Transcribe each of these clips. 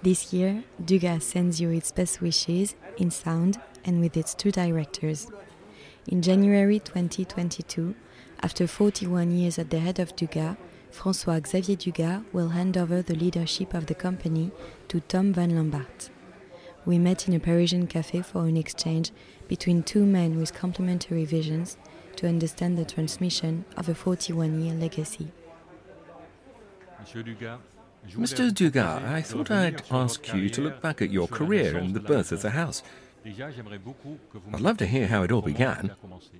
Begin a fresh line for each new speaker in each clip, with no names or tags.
This year, Dugas sends you its best wishes in sound and with its two directors. In January 2022, after 41 years at the head of Dugas, François-Xavier Dugas will hand over the leadership of the company to Tom van Lambart. We met in a Parisian café for an exchange between two men with complementary visions to understand the transmission of a 41-year legacy.
Mr. Dugas, I thought I'd ask you to look back at your career and the birth of the house. I'd love to hear how it all began.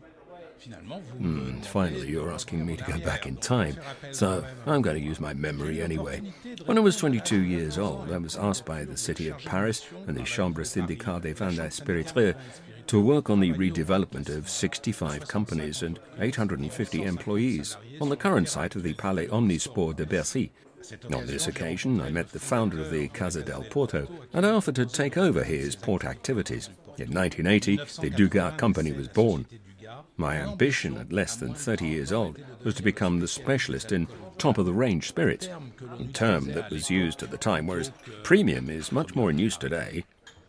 Finally, you're asking me to go back in time, so I'm going to use my memory anyway. When I was 22 years old, I was asked by the city of Paris and the Chambre syndicale des vins et spiritueux to work on the redevelopment of 65 companies and 850 employees on the current site of the Palais Omnisport de Bercy. On this occasion, I met the founder of the Casa del Porto and I offered to take over his port activities. In 1980, the Dugas company was born. My ambition at less than 30 years old was to become the specialist in top-of-the-range spirits, a term that was used at the time, whereas premium is much more in use today.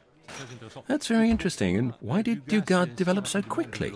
That's very interesting. And why did Dugas develop so quickly?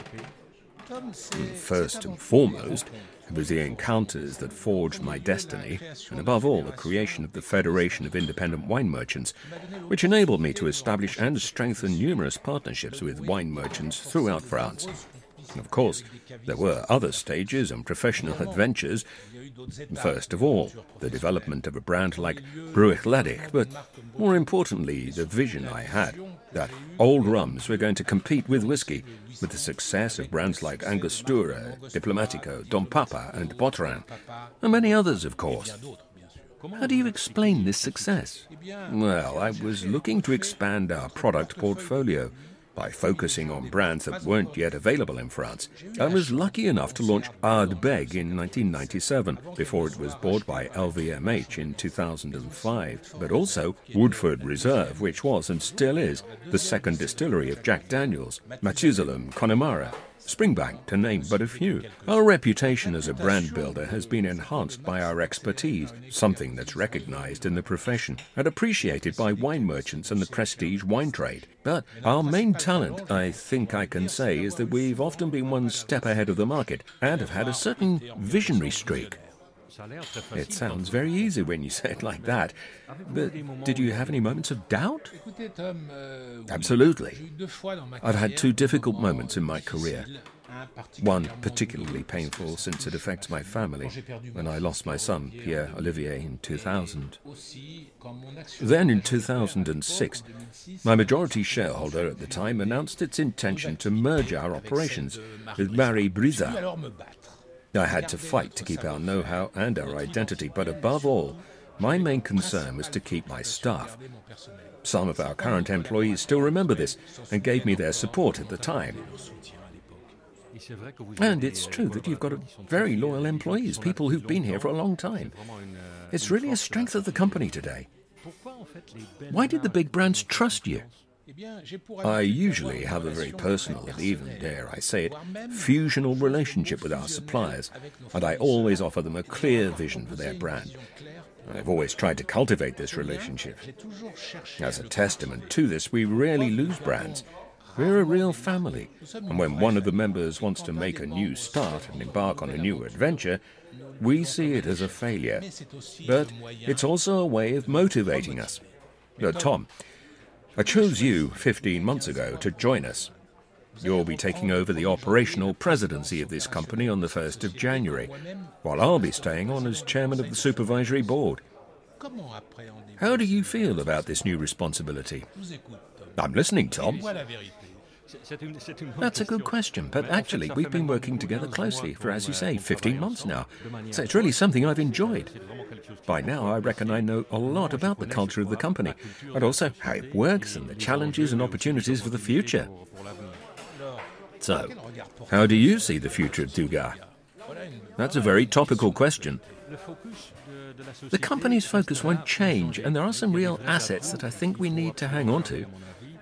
First and foremost, it was the encounters that forged my destiny, and above all, the creation of the Federation of Independent Wine Merchants, which enabled me to establish and strengthen numerous partnerships with wine merchants throughout France. And of course, there were other stages and professional adventures. First of all, the development of a brand like Bruichladdich, but more importantly, the vision I had that old rums were going to compete with whiskey, with the success of brands like Angostura, Diplomatico, Dom Papa and Botrin, and many others, of course. How do you explain this success? Well, I was looking to expand our product portfolio by focusing on brands that weren't yet available in France. I was lucky enough to launch Ardbeg in 1997, before it was bought by LVMH in 2005, but also Woodford Reserve, which was and still is the second distillery of Jack Daniels, Methusalem, Connemara, Springbank, to name but a few. Our reputation as a brand builder has been enhanced by our expertise, something that's recognized in the profession and appreciated by wine merchants and the prestige wine trade. But our main talent, I think I can say, is that we've often been one step ahead of the market and have had a certain visionary streak. It sounds very easy when you say it like that, but did you have any moments of doubt? Absolutely. I've had two difficult moments in my career. One particularly painful since it affects my family, when I lost my son, Pierre-Olivier, in 2000. Then in 2006, my majority shareholder at the time announced its intention to merge our operations with Marie Brizard. I had to fight to keep our know-how and our identity, but above all, my main concern was to keep my staff. Some of our current employees still remember this and gave me their support at the time. And it's true that you've got very loyal employees, people who've been here for a long time. It's really a strength of the company today. Why did the big brands trust you? I usually have a very personal and even, dare I say it, fusional relationship with our suppliers, and I always offer them a clear vision for their brand. I've always tried to cultivate this relationship. As a testament to this, we rarely lose brands. We're a real family, and when one of the members wants to make a new start and embark on a new adventure, we see it as a failure. But it's also a way of motivating us. Tom, I chose you 15 months ago to join us. You'll be taking over the operational presidency of this company on the 1st of January, while I'll be staying on as chairman of the supervisory board. How do you feel about this new responsibility? I'm listening, Tom. That's a good question, but actually we've been working together closely for, as you say, 15 months now. So it's really something I've enjoyed. By now I reckon I know a lot about the culture of the company, and also how it works and the challenges and opportunities for the future. So, how do you see the future of Dugas? That's a very topical question. The company's focus won't change, and there are some real assets that I think we need to hang on to.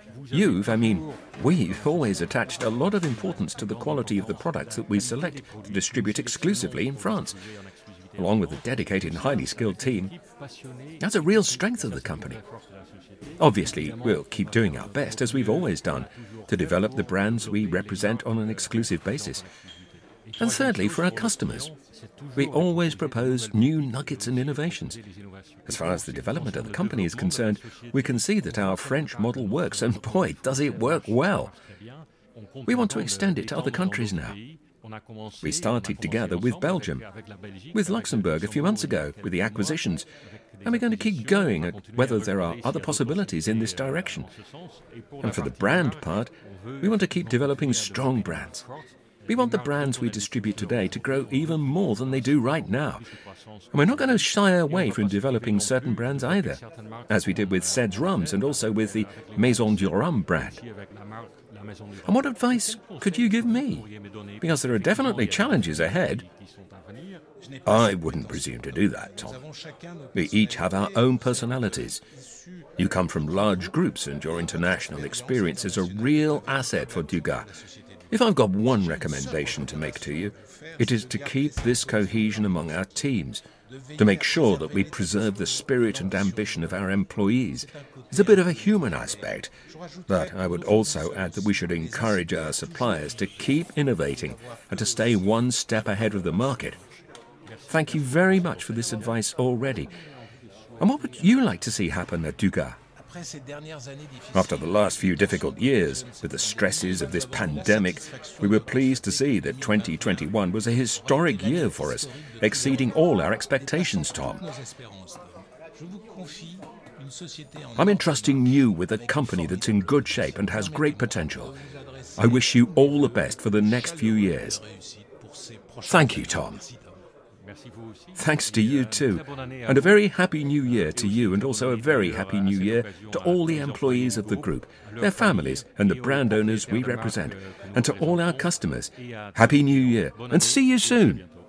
We've always attached a lot of importance to the quality of the products that we select to distribute exclusively in France. Along with a dedicated and highly skilled team, That's a real strength of the company. Obviously, we'll keep doing our best, as we've always done, to develop the brands we represent on an exclusive basis. And thirdly, for our customers, we always propose new nuggets and innovations. As far as the development of the company is concerned, we can see that our French model works, and boy, does it work well. We want to extend it to other countries now. We started together with Belgium, with Luxembourg a few months ago, with the acquisitions, and we're going to keep going at whether there are other possibilities in this direction. And for the brand part, we want to keep developing strong brands. We want the brands we distribute today to grow even more than they do right now. And we're not going to shy away from developing certain brands either, as we did with Ced's Rums and also with the Maison du Rhum brand. And what advice could you give me? Because there are definitely challenges ahead. I wouldn't presume to do that, Tom. We each have our own personalities. You come from large groups, and your international experience is a real asset for Dugas. If I've got one recommendation to make to you, it is to keep this cohesion among our teams, to make sure that we preserve the spirit and ambition of our employees. It's a bit of a human aspect, but I would also add that we should encourage our suppliers to keep innovating and to stay one step ahead of the market. Thank you very much for this advice already. And what would you like to see happen at Dugas? After the last few difficult years, with the stresses of this pandemic, we were pleased to see that 2021 was a historic year for us, exceeding all our expectations, Tom. I'm entrusting you with a company that's in good shape and has great potential. I wish you all the best for the next few years. Thank you, Tom. Thanks to you too, and a very happy new year to you, and also a very happy new year to all the employees of the group, their families and the brand owners we represent, and to all our customers. Happy New Year, and see you soon!